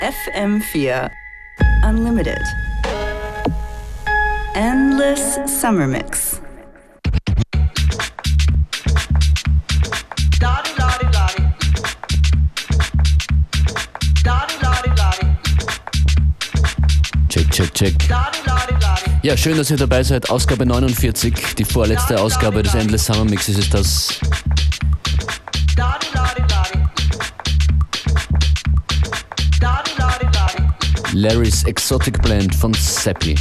FM4 Unlimited. Endless Summer Mix. Check. Ja, schön, dass ihr dabei seid. Ausgabe 49, die vorletzte Ausgabe des Endless Summer Mixes ist das. Larry's Exotic Blend von Seppi.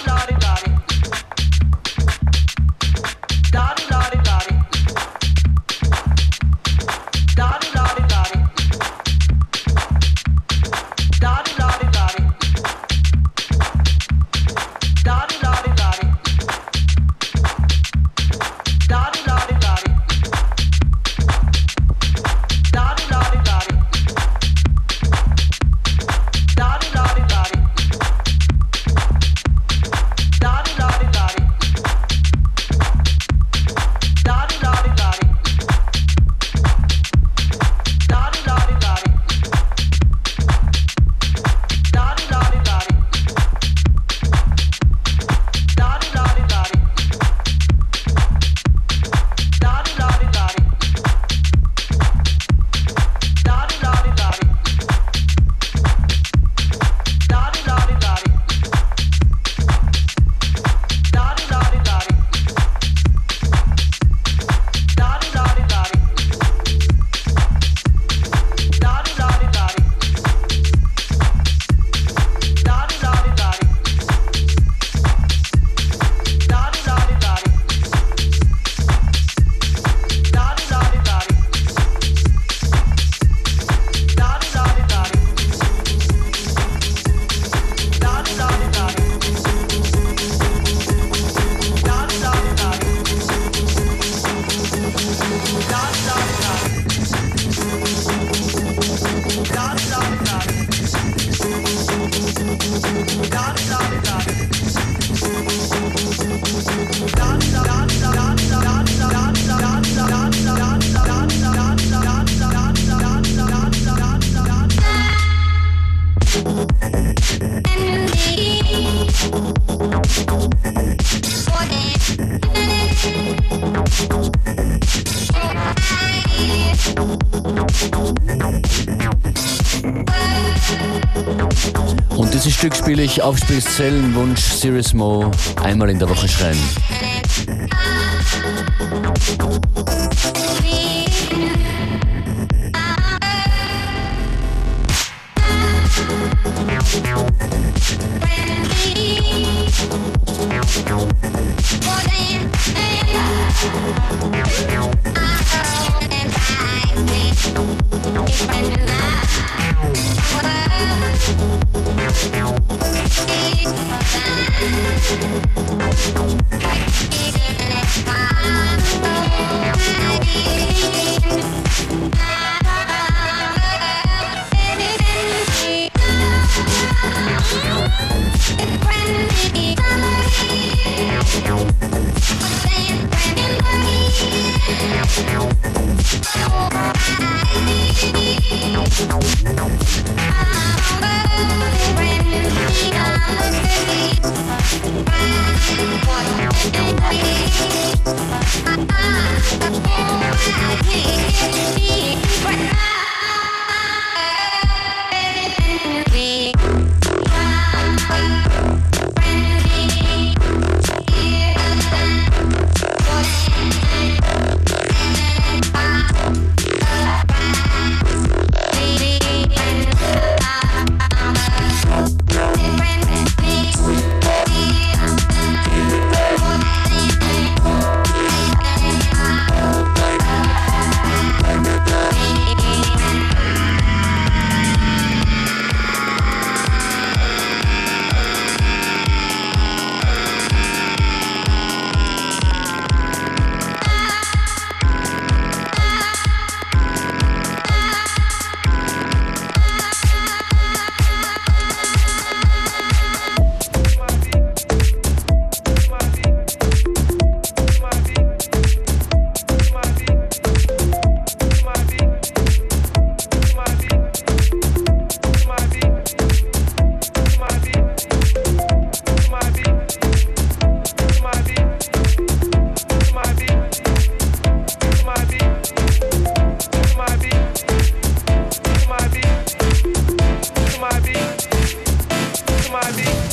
Und dieses Stück spiele ich auf Zellenwunsch Serious Mo einmal in der Woche schreien.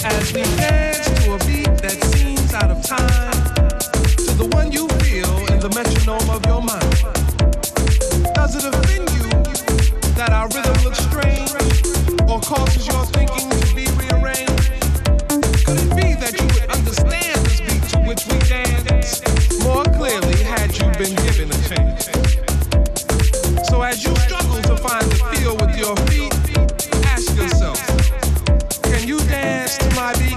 As we dance to a beat that seems out of time, to the one you feel in the metronome of your mind. Does it offend you that our rhythm looks strange, or causes your thinking to be rearranged? Could it be that you would understand this beat to which we dance more clearly had you been given a chance? So as you struggle to find the feel with your feet, ask yourself, can you dance to my beat?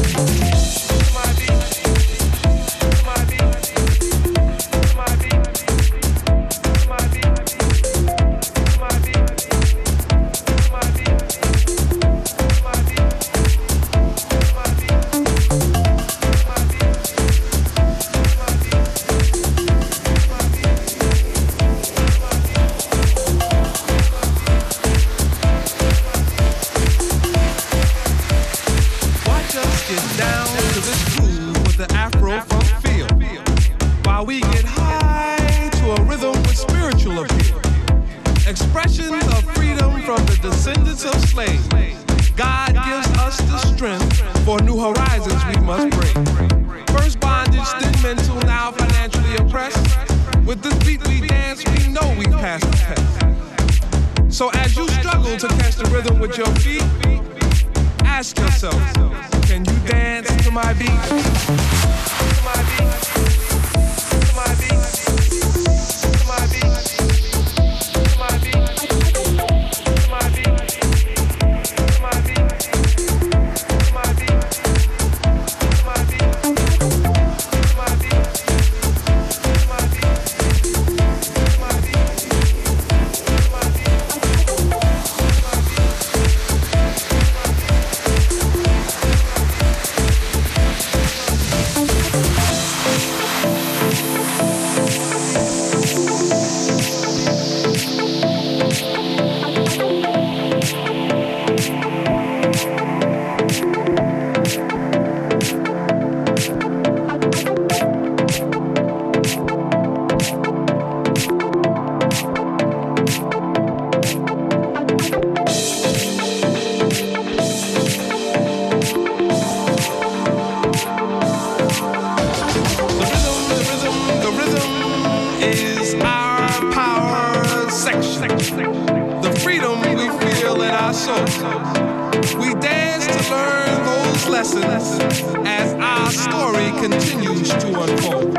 As our story continues to unfold.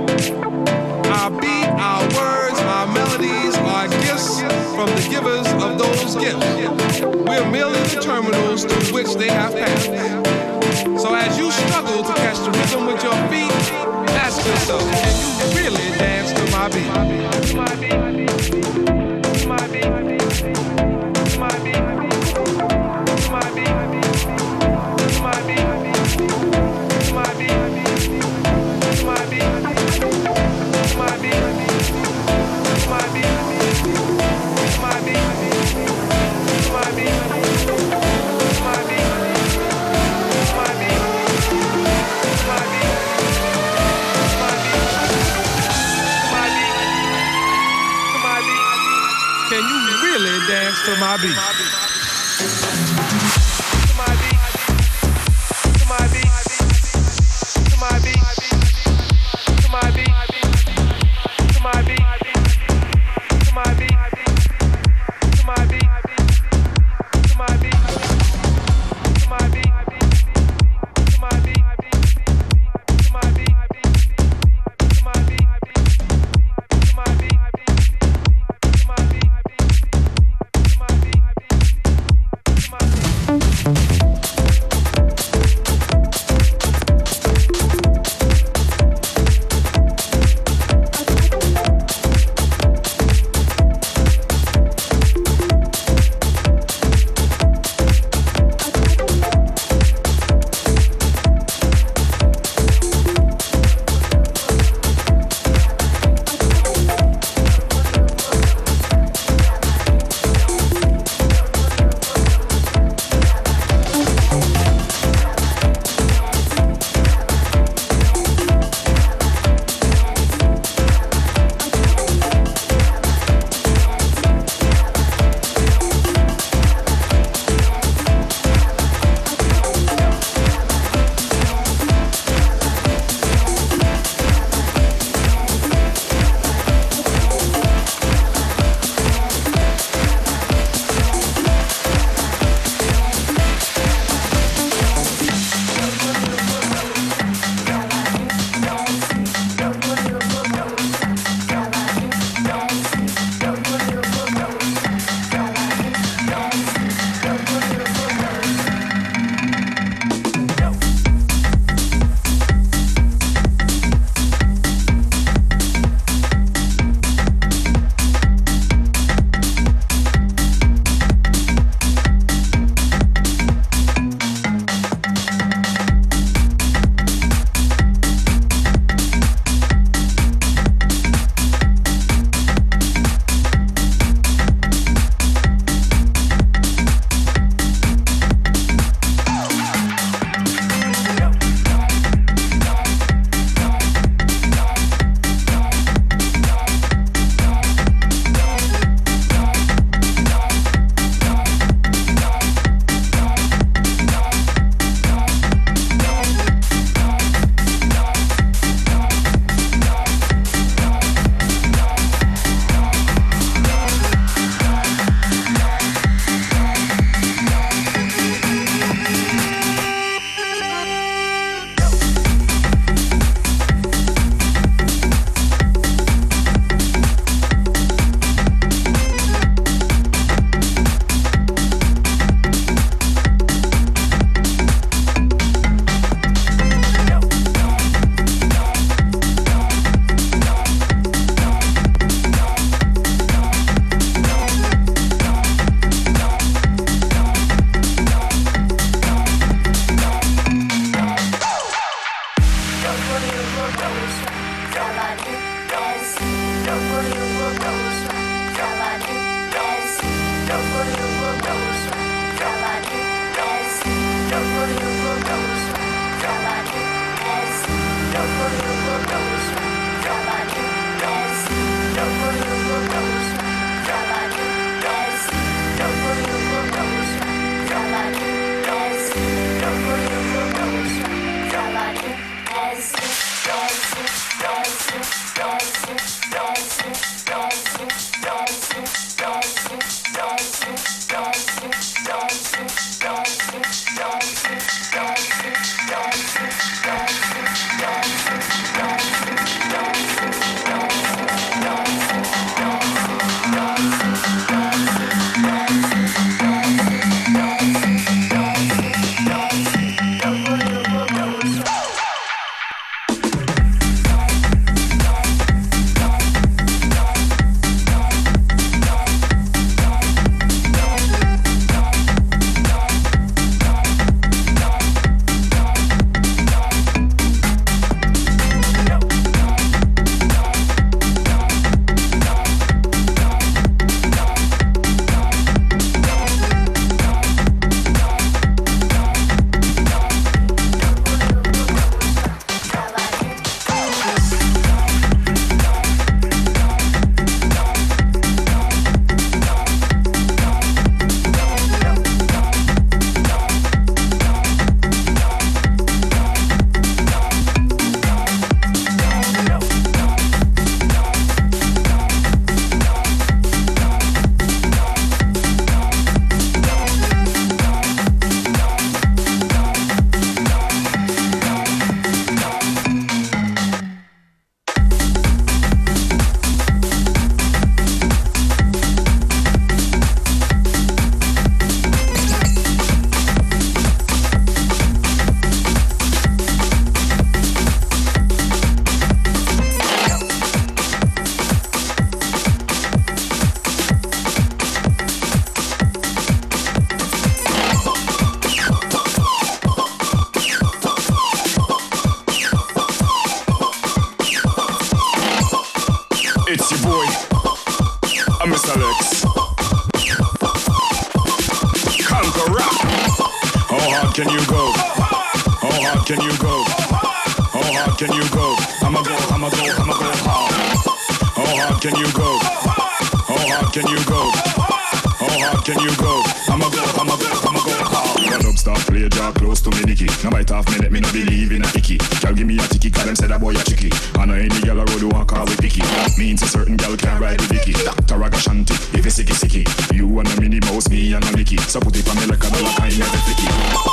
Our beat, our words, our melodies are gifts from the givers of those gifts. We're merely the terminals through which they have passed. So as you struggle to catch the rhythm with your feet, ask yourself, can you really dance to my beat? To my beat, to my beat, to my beat, to my beat. Can you really dance to my beat? It's your boy, I'm Mr. Lex. Conquer rap. How hard can you go? How hard can you go? How hard can you go? I'ma go hard. How hard can you go? How hard can you go? How hard can you go? I'ma go hard. One up, stop, play, draw close to me, Nicky. Now bite off me, let me no believe in a icky. Girl, give me a ticky, cause them said that boy a chicky. I know any girl a road who want call with picky. Means a certain girl can't ride with Vicky. Dr. Ragashanti, if it's sicky. You and a Minnie Mouse, me and a Nicky. So put it on me like a dollar, I never flicky.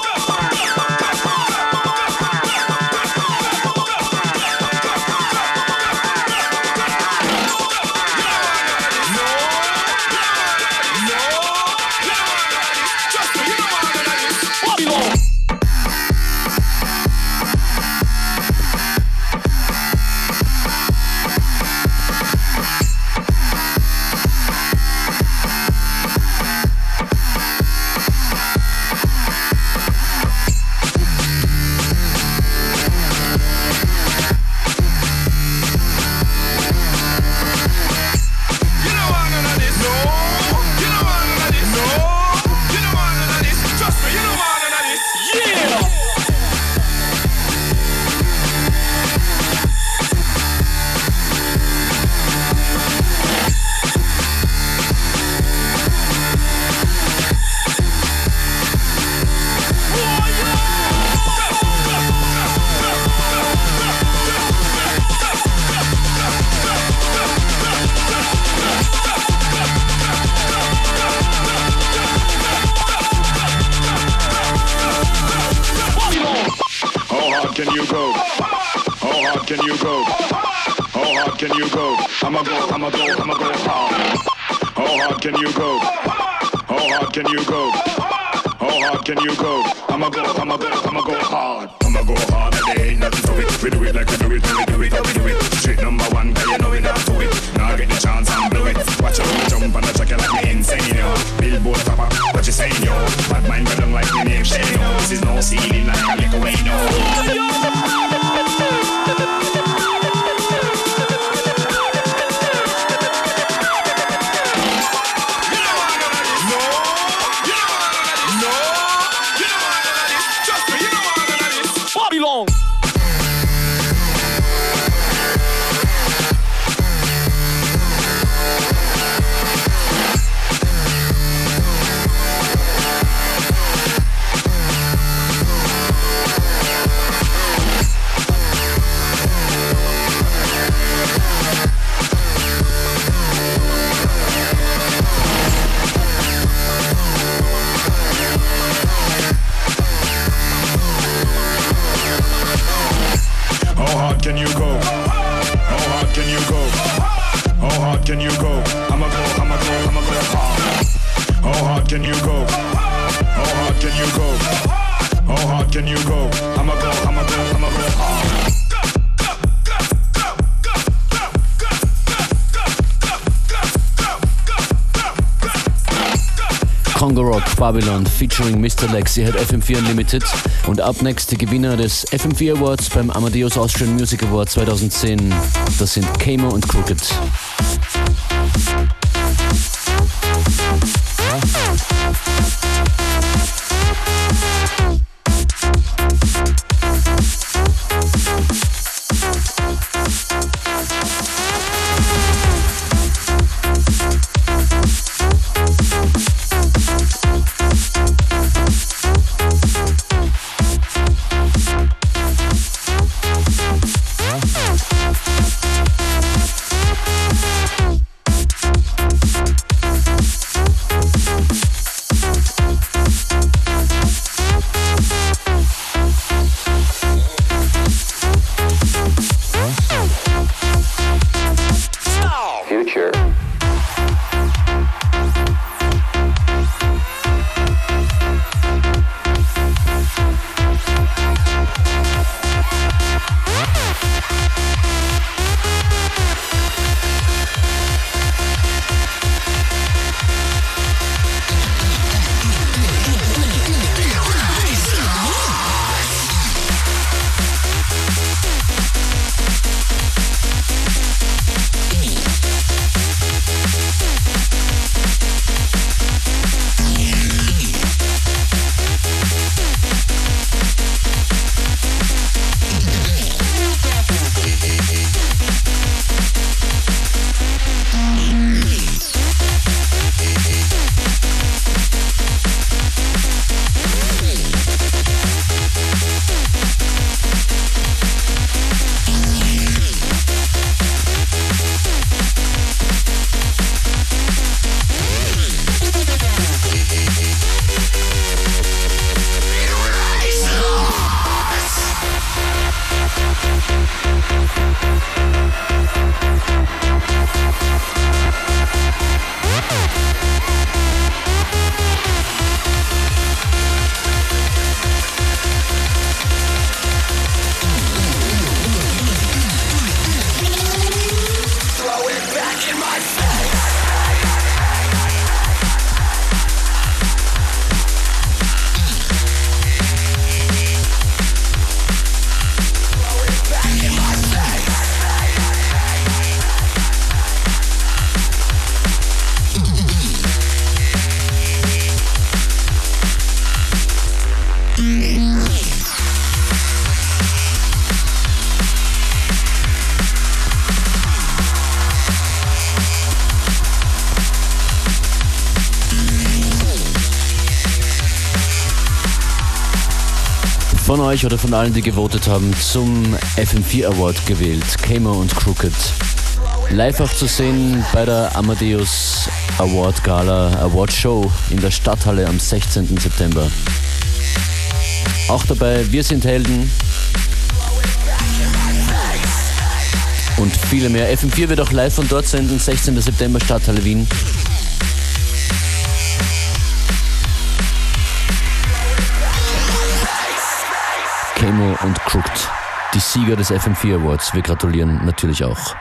Congo Rock Babylon featuring Mr. Lex. Ihr hört FM4 Unlimited. Und ab next die Gewinner des FM4 Awards beim Amadeus Austrian Music Award 2010. Das sind Kamo und Crooked. Von euch oder von allen, die gewotet haben, zum FM4 Award gewählt. Camo und Crooked. Live auch zu sehen bei der Amadeus Award Gala, Award Show in der Stadthalle am 16. September. Auch dabei Wir sind Helden und viele mehr. FM4 wird auch live von dort senden, 16. September, Stadthalle Wien. Camo und Crooked, die Sieger des FM4 Awards. Wir gratulieren natürlich auch.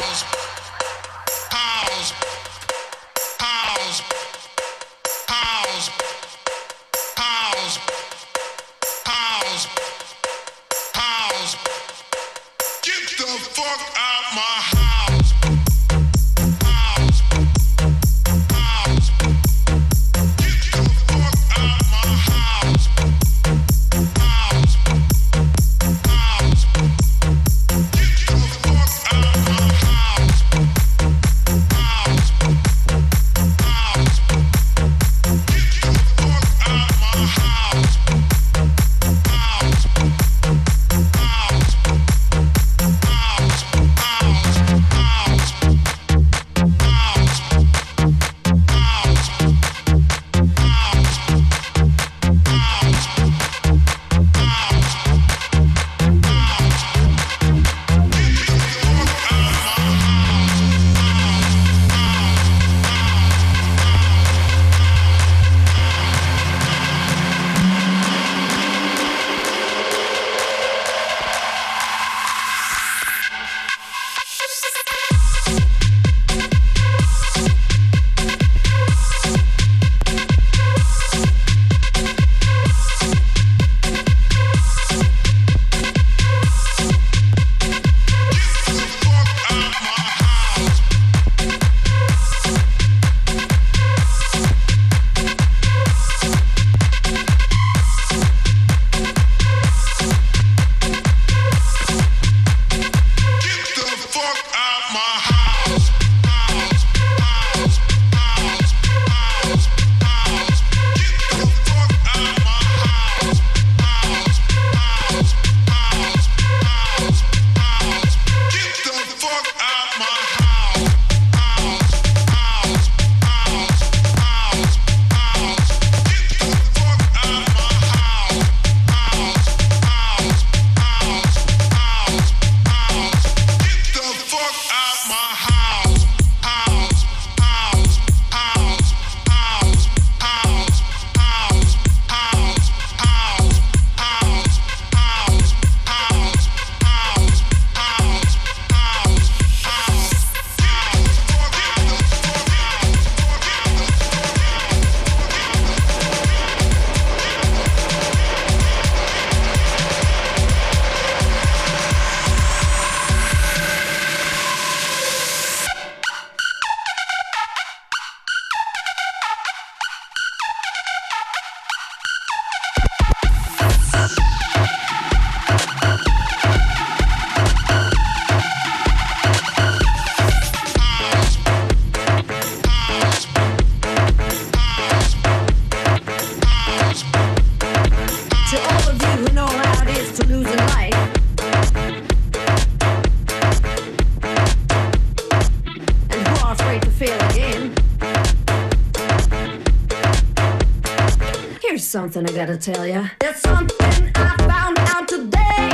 Something I gotta tell ya. There's something I found out today.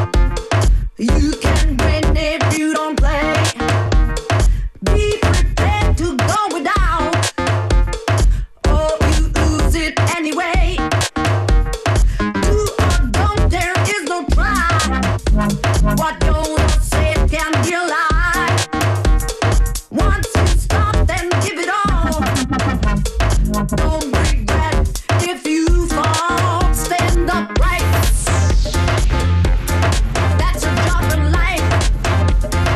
You can win if you don't play. Be prepared to go without, or you lose it anyway. Do or don't, there is no try. What you're saying can be a lie. Once you stop, then give it all. Don't regret if you stand upright. That's a job in life.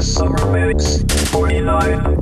Endless Summer Mix 49.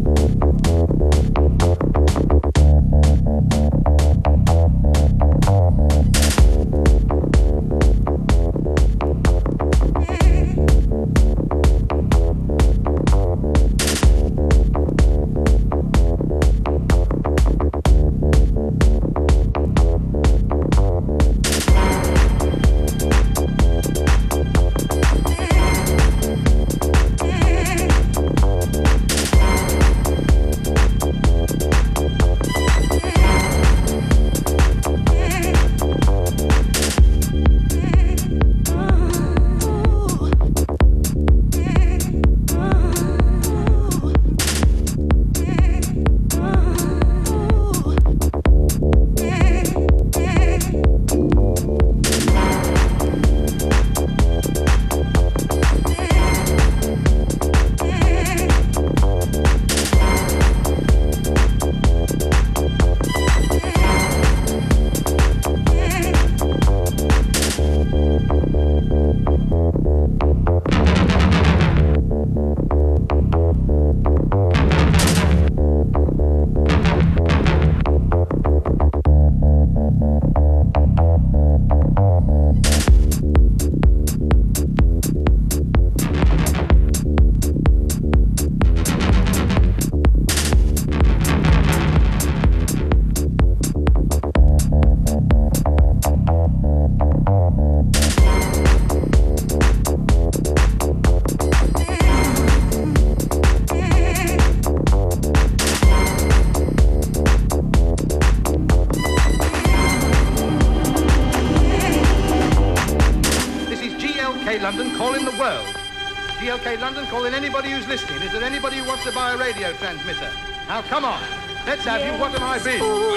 London, calling anybody who's listening. Is there anybody who wants to buy a radio transmitter? Now, come on. Let's have you. What am I bid?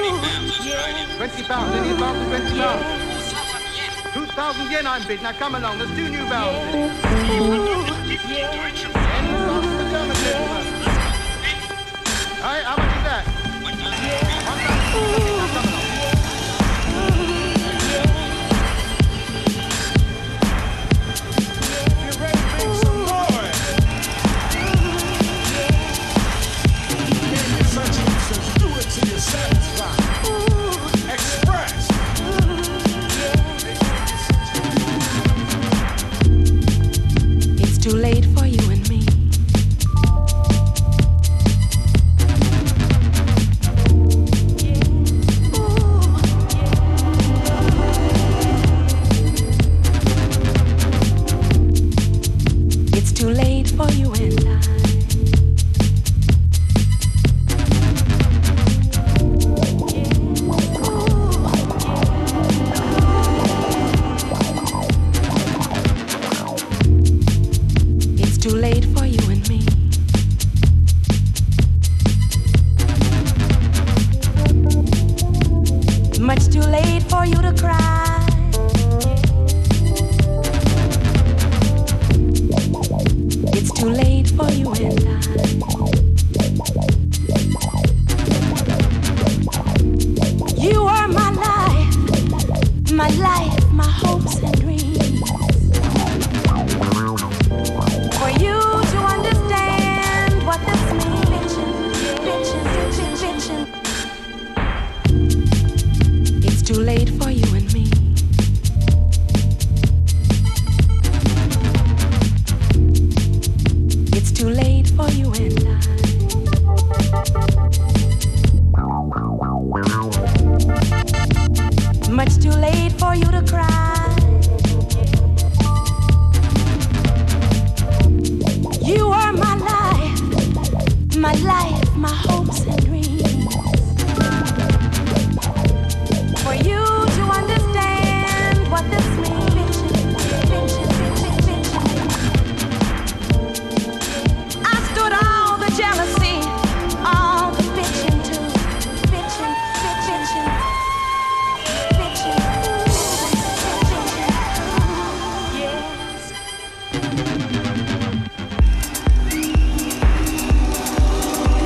20 pounds. Any advance of 20 pounds? 2,000 yen I'm bid. Now, come along. There's two new valves in it. Hey, how much is that? 1,000. Now, come along. It's too late for you and me. It's too late for you and I. Too late for you and me. Much too late for you to cry. It's too late for you and I. You are my life, my hopes and dreams. For you to understand what this means, it's too late for you and me. It's too late for you and I. Much too late for you to cry. You are my life, my hopes and dreams. For you to understand what this means, I stood all the jealousy, all the bitching too, bitching. Yes.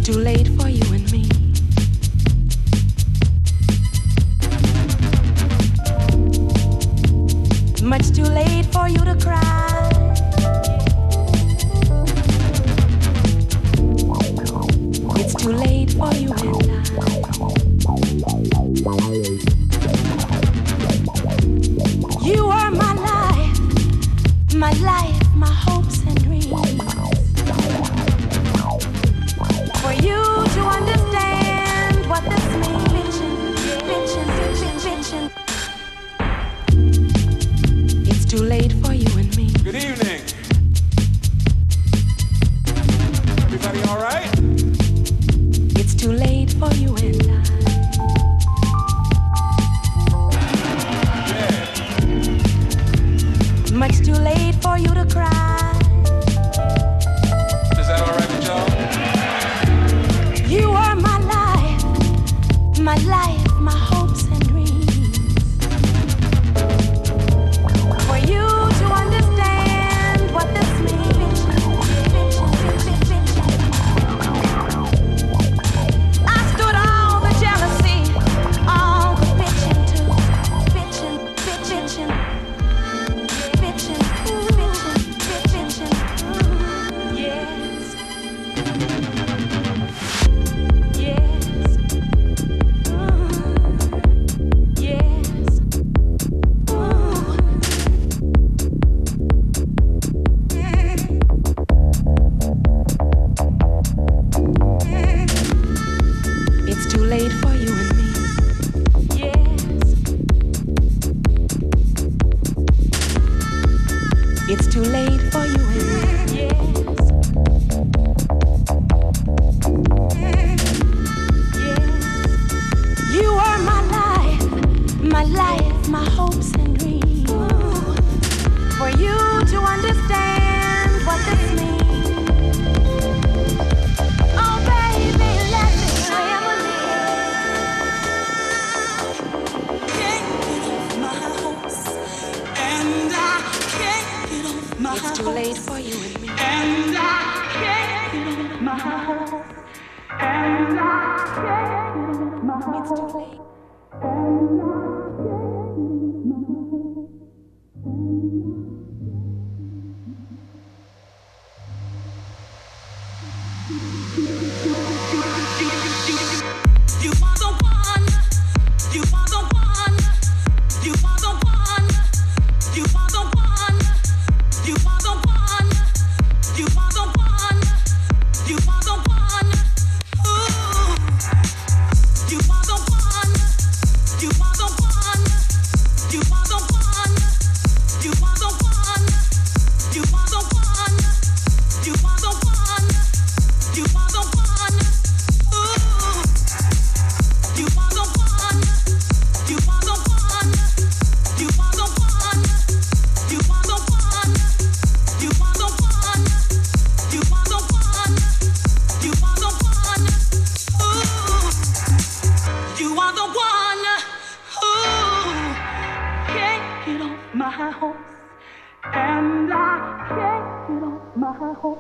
too late for you and me. Much too late for you to cry. It's too late for you and I. You are my life, my hopes and dreams. For you to understand what this means, bitchin'. It's too late for you and me. Good evening. Everybody all right? It's too late for you and I. Much too late for you to cry. Is that all right with y'all? You are my life, my hopes and dreams. For you to understand what this means. I stood all the jealousy, all the bitching too, bitching. It's too late for you and me. Yes. It's too late for you and me. Yes. You are my life, my hopes and dreams. For you to understand what this means. Oh baby, let me It's too late for you and me. And I can't get off my hopes. And I can't get off my hopes. It's too late. You are the one. You are the one. You are the one. You are the one. You are the one. You are the one. You are the one. Ooh. You are the one. You are the one. You are the one. You are the one. You are the one. You are the one. You are the one. Ooh. You are the one. You are the one. You are the one. You are the one. You are the one. You are the one. You are the one. Ooh. You are the one. Ooh. Can't get off my hopes. And I can't get off my hopes.